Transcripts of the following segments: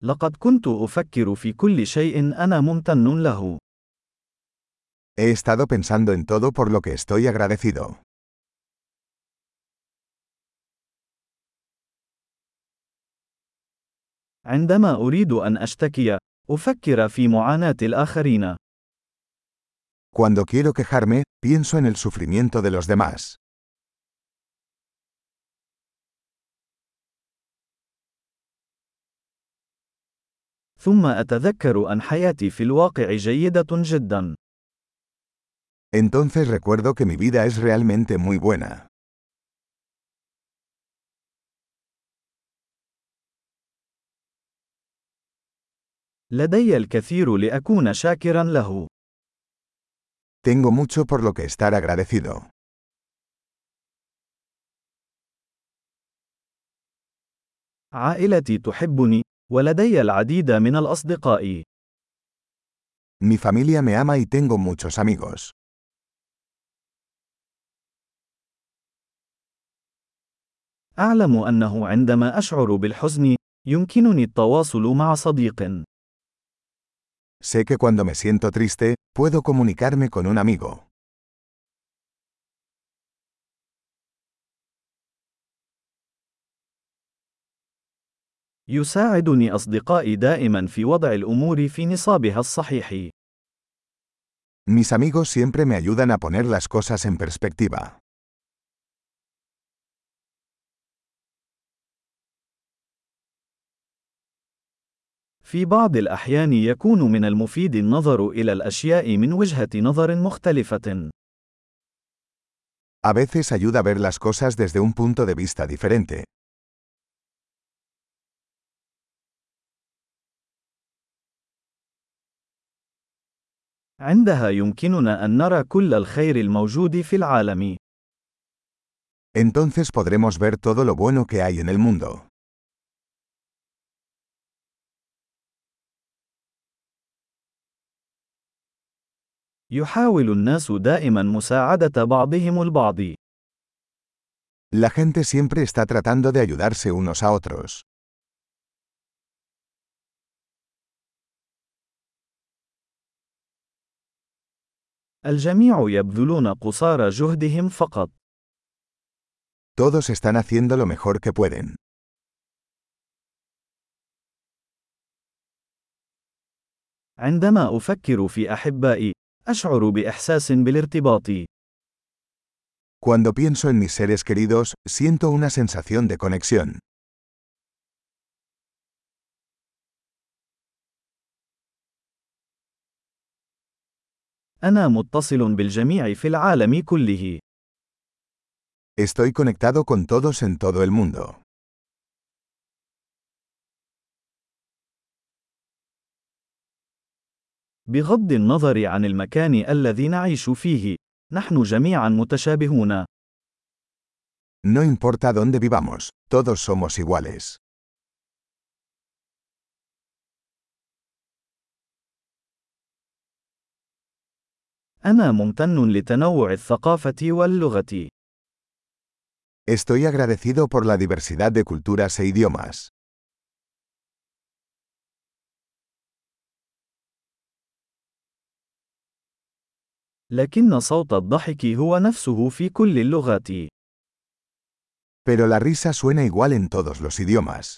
لقد كنت أفكر في كل شيء أنا ممتن له. He estado pensando en todo por lo que estoy agradecido. عندما أريد أن أشتكي، أفكر في معاناة الآخرين. Cuando quiero quejarme, pienso en el sufrimiento de los demás. ثم أتذكر أن حياتي في الواقع جيدة جدا. Entonces recuerdo que mi vida es realmente muy buena. لدي الكثير لأكون شاكرا له. Tengo mucho por lo que estar agradecido. عائلتي تحبني، ولدي العديد من الأصدقاء. Mi familia me ama y tengo muchos amigos. أعلم أنه عندما أشعر بالحزن، يمكنني التواصل مع صديق. Sé que cuando me siento triste, puedo comunicarme con un amigo. يساعدني أصدقائي دائما في وضع الأمور في نصابها الصحيح. Mis amigos siempre me ayudan a poner las cosas en perspectiva. في بعض الأحيان يكون من المفيد النظر إلى الأشياء من وجهة نظر مختلفة. A veces ayuda a ver las cosas desde un punto de vista diferente. عندها يمكننا أن نرى كل الخير الموجود في العالم. Entonces podremos ver todo lo bueno que hay en el mundo. يحاول الناس دائما مساعدة بعضهم البعض. La gente siempre está tratando de ayudarse unos a otros. الجميع يبذلون قصارى جهدهم فقط. Todos están haciendo lo mejor que pueden. عندما أفكر في أحبائي، أشعر بإحساس بالارتباط. Cuando pienso en mis seres queridos, siento una sensación de conexión. أنا متصل بالجميع في العالم كله. Estoy conectado con todos en todo el mundo. بغض النظر عن المكان الذي نعيش فيه، نحن جميعا متشابهون. No importa dónde vivamos, todos somos iguales. أنا ممتن لتنوع الثقافة واللغة. Estoy agradecido por la diversidad de culturas e idiomas. لكن صوت الضحك هو نفسه في كل اللغات. Pero la risa suena igual en todos los idiomas.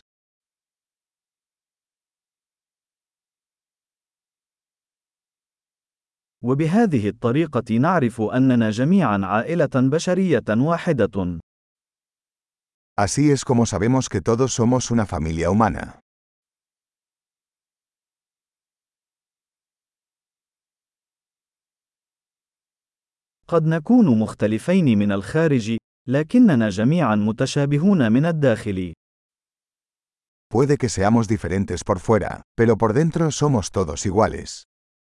وبهذه الطريقة نعرف أننا جميعا عائلة بشرية واحدة. Así es como sabemos que todos somos una familia humana. قد نكون مختلفين من الخارج، لكننا جميعا متشابهون من الداخل. Puede que seamos diferentes por fuera, pero por dentro somos todos iguales.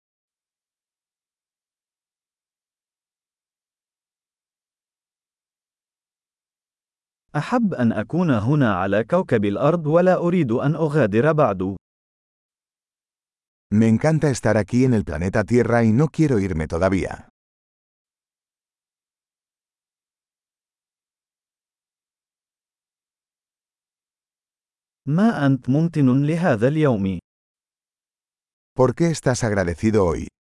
أحب أن أكون هنا على كوكب الأرض ولا أريد أن أغادر بعد. Me encanta estar aquí en el planeta Tierra y no quiero irme todavía. ما أنت ممتن لهذا اليوم؟ ¿Por qué estás agradecido hoy?